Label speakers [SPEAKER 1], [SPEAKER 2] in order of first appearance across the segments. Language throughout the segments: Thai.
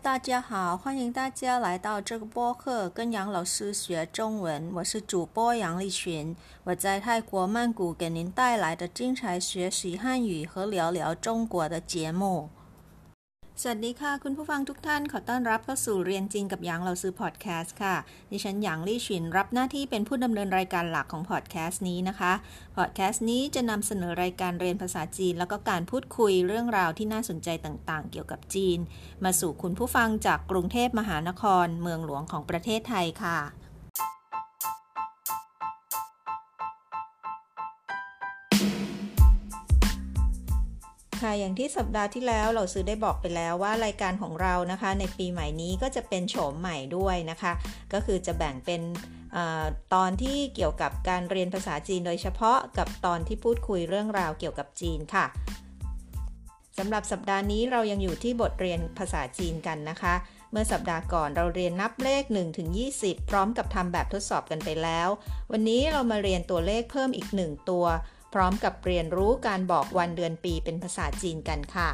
[SPEAKER 1] 大家好，欢迎大家来到这个播客，跟杨老师学中文。我是主播杨丽群，我在泰国曼谷给您带来的精彩学习汉语和聊聊中国的节目。สวัสดีค่ะคุณผู้ฟังทุกท่านขอต้อนรับเข้าสู่เรียนจีนกับหยางเราซื้อพอดแคสต์ค่ะดิฉันหยางลี่ฉินรับหน้าที่เป็นผู้ดำเนินรายการหลักของพอดแคสต์นี้นะคะพอดแคสต์นี้จะนำเสนอรายการเรียนภาษาจีนแล้วก็การพูดคุยเรื่องราวที่น่าสนใจต่างๆเกี่ยวกับจีนมาสู่คุณผู้ฟังจากกรุงเทพมหานครเมืองหลวงของประเทศไทยค่ะอย่างที่สัปดาห์ที่แล้วเราซื้อได้บอกไปแล้วว่ารายการของเรานะคะในปีใหม่นี้ก็จะเป็นโฉมใหม่ด้วยนะคะก็คือจะแบ่งเป็นตอนที่เกี่ยวกับการเรียนภาษาจีนโดยเฉพาะกับตอนที่พูดคุยเรื่องราวเกี่ยวกับจีนค่ะสำหรับสัปดาห์นี้เรายังอยู่ที่บทเรียนภาษาจีนกันนะคะเมื่อสัปดาห์ก่อนเราเรียนนับเลข 1-20 พร้อมกับทำแบบทดสอบกันไปแล้ววันนี้เรามาเรียนตัวเลขเพิ่มอีก1ตัวพร้อมกับเรียนรู้การบอกวันเดือนปีเป็นภาษาจีนกันค่ะ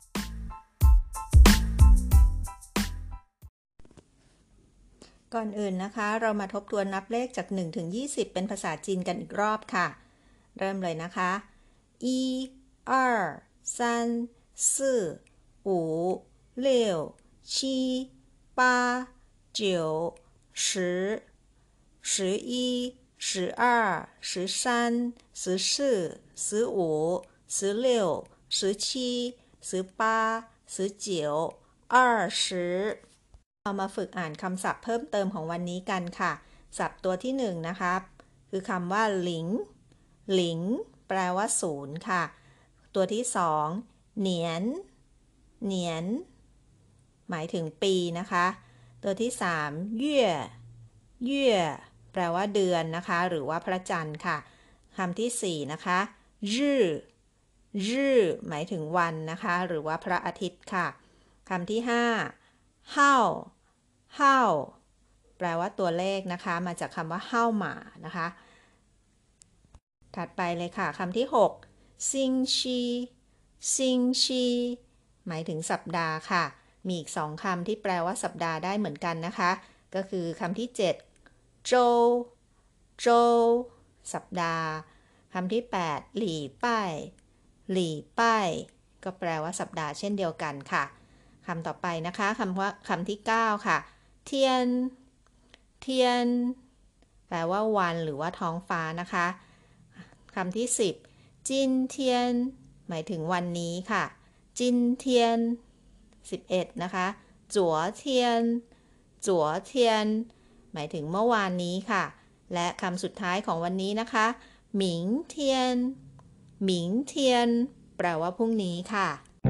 [SPEAKER 1] ก่อนอื่นนะคะเรามาทบทวนนับเลขจาก 1-20 เป็นภาษาจีนกันอีกรอบค่ะเริ่มเลยนะคะ1 2 3 4 5 6 7 8 9 10 11 12 13 14 15 16 17 18 19 20เรามาฝึกอ่านคำศัพท์เพิ่มเติมของวันนี้กันค่ะศัพท์ตัวที่1นะคะคือคำว่าหลิงหลิงแปลว่าศูนย์ค่ะตัวที่2เหนียนเหนียนหมายถึงปีนะคะตัวที่3เย่ยเย่ยแปลว่าเดือนนะคะหรือว่าพระจันทร์ค่ะคำที่4นะคะรื่อรื่อหมายถึงวันนะคะหรือว่าพระอาทิตย์ค่ะคำที่5เฮาเฮาแปลว่าตัวเลขนะคะมาจากคำว่าเฮาหมานะคะถัดไปเลยค่ะคำที่6ซิงชีซิงชีหมายถึงสัปดาห์ค่ะมีอีก2คำที่แปลว่าสัปดาห์ได้เหมือนกันนะคะก็คือคำที่7โจวโจวสัปดาห์คำที่8หลี่ป้ายหลี่ป้ายก็แปลว่าสัปดาห์เช่นเดียวกันค่ะคำต่อไปนะคะคำที่9ค่ะเทียนเทียนแปลว่าวันหรือว่าท้องฟ้านะคะคำที่10จินเทียนหมายถึงวันนี้ค่ะจินเทียน11นะคะจั๋วเทียนจั๋วเทียนหมายถึงเมื่อวานนี้ค่ะและคำสุดท้ายของวันนี้นะคะหมิงเทียนหมิงเทียนแปลว่าพรุ่งนี้ค่ะ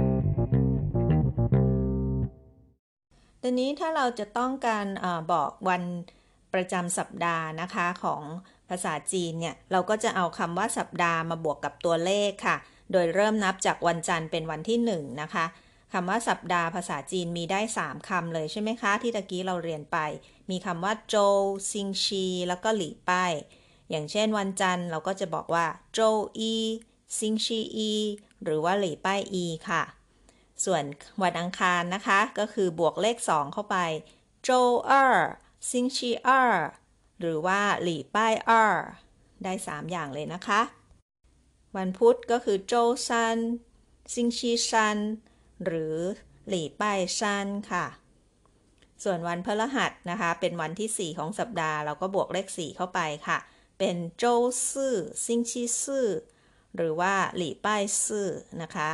[SPEAKER 1] ทีนี้ถ้าเราจะต้องการบอกวันประจำสัปดาห์นะคะของภาษาจีนเนี่ยเราก็จะเอาคำว่าสัปดาห์มาบวกกับตัวเลขค่ะโดยเริ่มนับจากวันจันทร์เป็นวันที่1นะคะคำว่าสัปดาห์ภาษาจีนมีได้3คำเลยใช่ไหมคะที่ตะกี้เราเรียนไปมีคำว่าโจวซิงชีแล้วก็หลี่ป้ายอย่างเช่นวันจันทร์เราก็จะบอกว่าโจวอีซิงชีอีหรือว่าหลี่ป้ายอีค่ะส่วนวันอังคารนะคะก็คือบวกเลข2เข้าไปโจวซิงชีหรือว่าหลี่ป้ายได้3อย่างเลยนะคะวันพุธก็คือโจวซันซิงชีซันหรือหลี่ป้ายซันค่ะส่วนวันพฤหัสนะคะเป็นวันที่4ของสัปดาห์เราก็บวกเลข4เข้าไปค่ะเป็นโจวซื่อซิงชีซื่อหรือว่าหลี่ป้ายซื่อนะคะ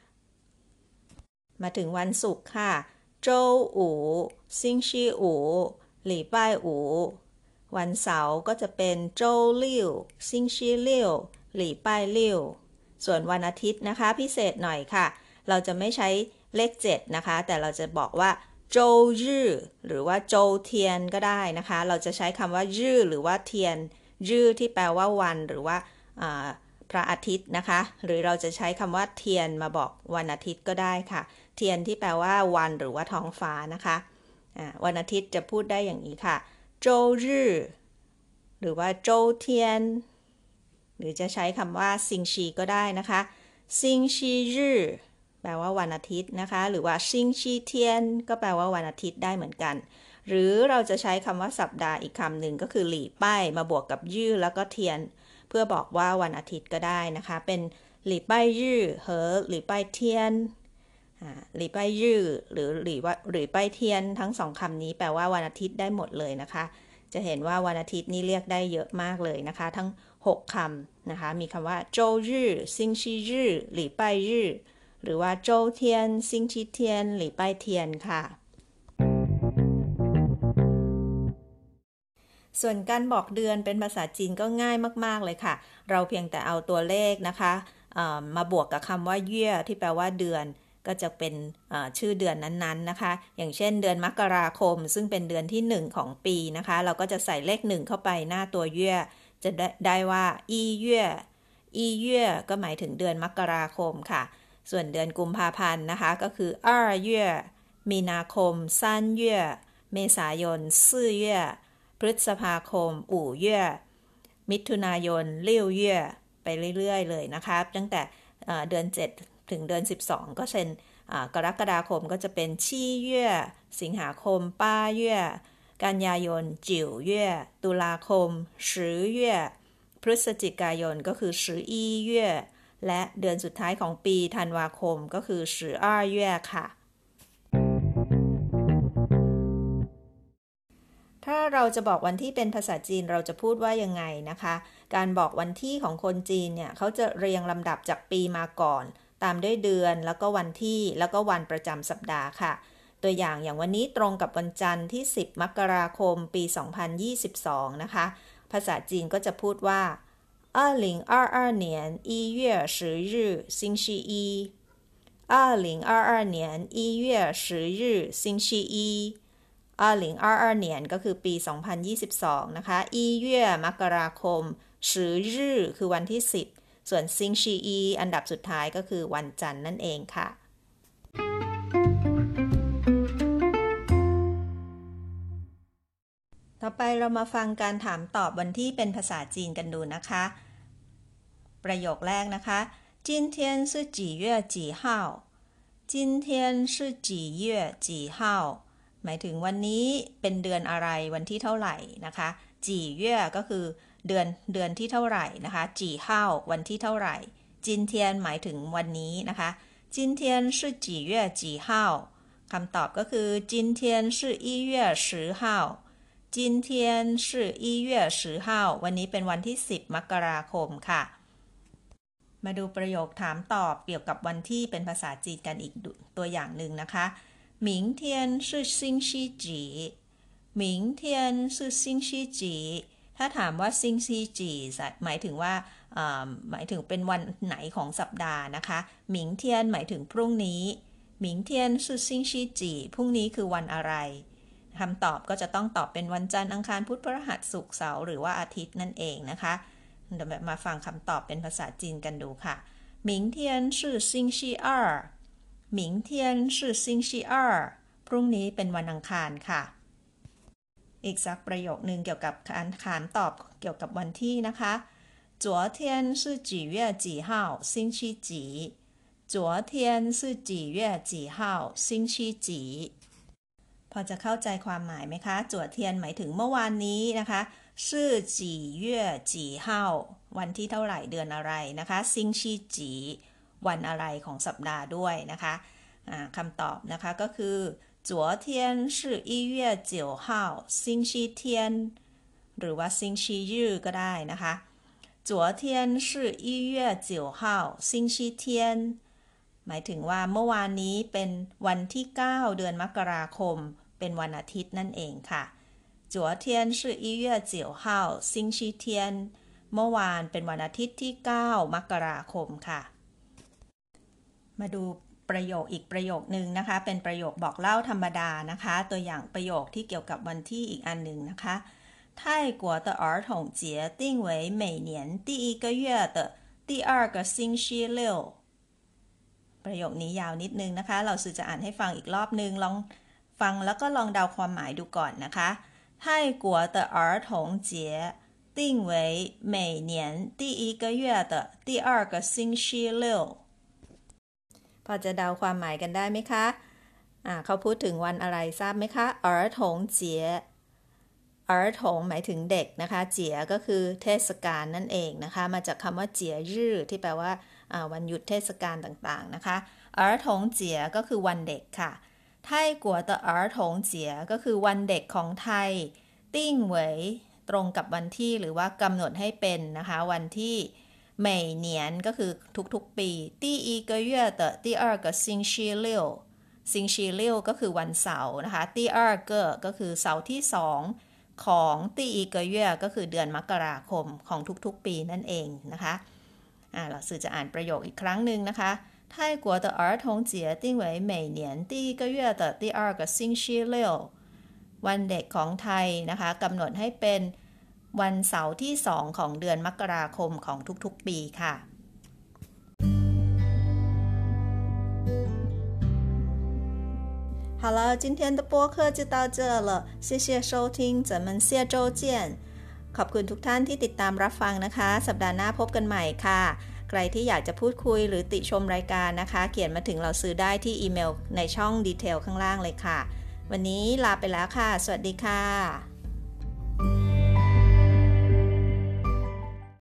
[SPEAKER 1] มาถึงวันศุกร์ค่ะโจวอู่ซิงชีอู่หลี่ป้ายอู่วันเสาร์ก็จะเป็นโจวลิ่วซิงชีลิ่วหลี่ป้ายลิ่วส่วนวันอาทิตย์นะคะพิเศษหน่อยค่ะเราจะไม่ใช้เลข7นะคะแต่เราจะบอกว่าโจวรื่อหรือว่าโจวเทียนก็ได้นะคะเราจะใช้คำว่ารื่อหรือว่าเทียนรื่อที่แปลว่าวันหรือว่าพระอาทิตย์นะคะหรือเราจะใช้คำว่าเทียนมาบอกวันอาทิตย์ก็ได้ค่ะเทียนที่แปลว่าวันหรือว่าท้องฟ้านะคะวันอาทิตย์จะพูดได้อย่างนี้ค่ะโจวรื่อหรือว่าโจวเทียนหรือจะใช้คำว่าซิงชีก็ได้นะคะซิงชีรื่อแปลว่าวันอาทิตย์นะคะหรือว่าซิงชีเทียนก็แปลว่าวันอาทิตย์ได้เหมือนกันหรือเราจะใช้คำว่าสัปดาห์อีกคำหนึ่งก็คือหลี่ป้ายมาบวกกับยื่อแล้วก็เทียนเพื่อบอกว่าวันอาทิตย์ก็ได้นะคะเป็นหลี่ป้ายยื่อเหอหลี่ป้ายเทียนหลี่ป้ายยื่อหรือหลี่ป้ายเทียนทั้งสองคำนี้แปลว่าวันอาทิตย์ได้หมดเลยนะคะจะเห็นว่าวันอาทิตย์นี่เรียกได้เยอะมากเลยนะคะทั้ง6คำนะคะมีคำว่าโจวยื่อซิงชียื่อหลี่ป้ายยื่อหรือว่าโจวเทียนซิงชีเทียนหลี่ป้ายเทียนค่ะส่วนการบอกเดือนเป็นภาษาจีนก็ง่ายมากๆเลยค่ะเราเพียงแต่เอาตัวเลขนะคะมาบวกกับคำว่าเย่ยที่แปลว่าเดือนก็จะเป็นชื่อเดือนนั้นๆนะคะอย่างเช่นเดือนมกราคมซึ่งเป็นเดือนที่1ของปีนะคะเราก็จะใส่เลข1เข้าไปหน้าตัวเย่ยจะได้ว่าอีเย่ยก็หมายถึงเดือนมกราคมค่ะส่วนเดือนกุมภาพันธ์นะคะก็คือ2月มีนาคม3月เมษายน4月พฤษภาคม5月มิถุนายน6月ไปเรื่อยๆเลยนะคะตั้งแต่เดือน7ถึงเดือน12ก็เช่นกรกฎาคมก็จะเป็น7月สิงหาคม8月กันยายน9月ตุลาคม10月พฤศจิกายนก็คือ11月และเดือนสุดท้ายของปีธันวาคมก็คือ12月ค่ะถ้าเราจะบอกวันที่เป็นภาษาจีนเราจะพูดว่ายังไงนะคะการบอกวันที่ของคนจีนเนี่ยเขาจะเรียงลำดับจากปีมาก่อนตามด้วยเดือนแล้วก็วันที่แล้วก็วันประจำสัปดาห์ค่ะตัวอย่างวันนี้ตรงกับวันจันทร์ที่10มกราคมปี2022นะคะภาษาจีนก็จะพูดว่า2022年1月10日星期一2022年1月10日星期一2022年ก็คือปี2022นะคะ1月มกราคม10日คือวันที่10ส่วนซิงชีอีอันดับสุดท้ายก็คือวันจันทร์นั่นเองค่ะต่อไปเรามาฟังการถามตอบวันที่เป็นภาษาจีนกันดูนะคะประโยคแรกนะคะ今天是几月几号今天是几月几号หมายถึงวันนี้เป็นเดือนอะไรวันที่เท่าไหร่นะคะจีเย่ก็คือเดือนที่เท่าไหร่นะคะจีเฮาวันที่เท่าไหร่จินเทียนหมายถึงวันนี้นะคะจินเทียน是几月几号คำตอบก็คือจินเทียน是1月10号จินเทียน是1月10号วันนี้เป็นวันที่10มกราคมค่ะมาดูประโยคถามตอบเกี่ยวกับวันที่เป็นภาษาจีนกันอีกตัวอย่างหนึ่งนะคะ明天是星期几明天是星期几ถ้าถามว่าซิงซีจีหมายถึงว่าหมายถึงเป็นวันไหนของสัปดาห์นะคะหมิงเทียนหมายถึงพรุ่งนี้หมิงเทียน是星期几พรุ่งนี้คือวันอะไรคำตอบก็จะต้องตอบเป็นวันจันทร์อังคารพุธพฤหัสศุกร์เสาร์หรือว่าอาทิตย์นั่นเองนะคะเดี๋ยวมาฟังคำตอบเป็นภาษาจีนกันดูค่ะ明天是星期二明天是星期二พรุ่งนี้เป็นวันอังคารค่ะอีกสักประโยคนึงเกี่ยวกับการถามตอบเกี่ยวกับวันที่นะคะ昨天是几月几号星期几昨天是几月几号星期几พอจะเข้าใจความหมายไหมคะจั่วเทียนหมายถึงเมื่อวานนี้นะคะชื่อจีเย่จีเฮาวันที่เท่าไหร่เดือนอะไรนะคะซิงชีจีวันอะไรของสัปดาห์ด้วยนะคะคำตอบนะคะก็คือ昨天是1月9号星期天หรือว่าซิงชียื่อก็ได้นะคะ昨天是1月9号星期天หมายถึงว่าเมื่อวานนี้เป็นวันที่9เดือนมกราคมเป็นวันอาทิตย์นั่นเองค่ะ昨天是1月9号星期天เมื่อวานเป็นวันอาทิตย์ที่9มกราคมค่ะมาดูประโยคอีกประโยคนึงนะคะเป็นประโยคบอกเล่าธรรมดานะคะตัวอย่างประโยคที่เกี่ยวกับวันที่อีกอันหนึ่งนะคะ泰国的儿童节定为每年第一个月的第二个星期六ประโยคนี้ยาวนิดนึงนะคะเราสื่อจะอ่านให้ฟังอีกรอบนึงลองฟังแล้วก็ลองเดาความหมายดูก่อนนะคะ泰国的儿童节定为每年第一个月的第二个星期六พอจะเดาความหมายกันได้ไหมคะเขาพูดถึงวันอะไรทราบไหมคะ儿童节儿童หมายถึงเด็กนะคะเจี๋ยก็คือเทศกาลนั่นเองนะคะมาจากคำว่าเจี๋ยรื่อที่แปลว่าวันหยุดเทศกาลต่างๆนะคะ儿童节ก็คือวันเด็กค่ะไทกัวเตอ儿童节ก็คือวันเด็กของไทยติ้งเหวยตรงกับวันที่หรือว่ากำหนดให้เป็นนะคะวันที่每年ก็คือทุกๆปี第一个月的第二个星期六星期六ก็คือวันเสาร์นะคะ第二个ก็คือเสาร์ที่2ของ第一个月ก็คือเดือนมกราคมของทุกๆปีนั่นเองนะคะเราสื่อจะอ่านประโยคอีกครั้งหนึ่งนะคะ泰国的儿童节定为每年第一个月的第二个星期六วันเด็กของไทยนะคะกำหนดให้เป็นวันเสาร์ที่2ของเดือนมกราคมของทุกๆปีค่ะ好了，今天的播客就到这了，谢谢收听，咱们下周见。ขอบคุณทุกท่านที่ติดตามรับฟังนะคะสัปดาห์หน้าพบกันใหม่ค่ะใครที่อยากจะพูดคุยหรือติชมรายการนะคะเขียนมาถึงเราซื้อได้ที่อีเมลในช่องดีเทลข้างล่างเลยค่ะวันนี้ลาไปแล้วค่ะสวัสดีค่ะ